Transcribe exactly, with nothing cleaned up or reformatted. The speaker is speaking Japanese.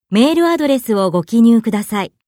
メールアドレスをご記入ください。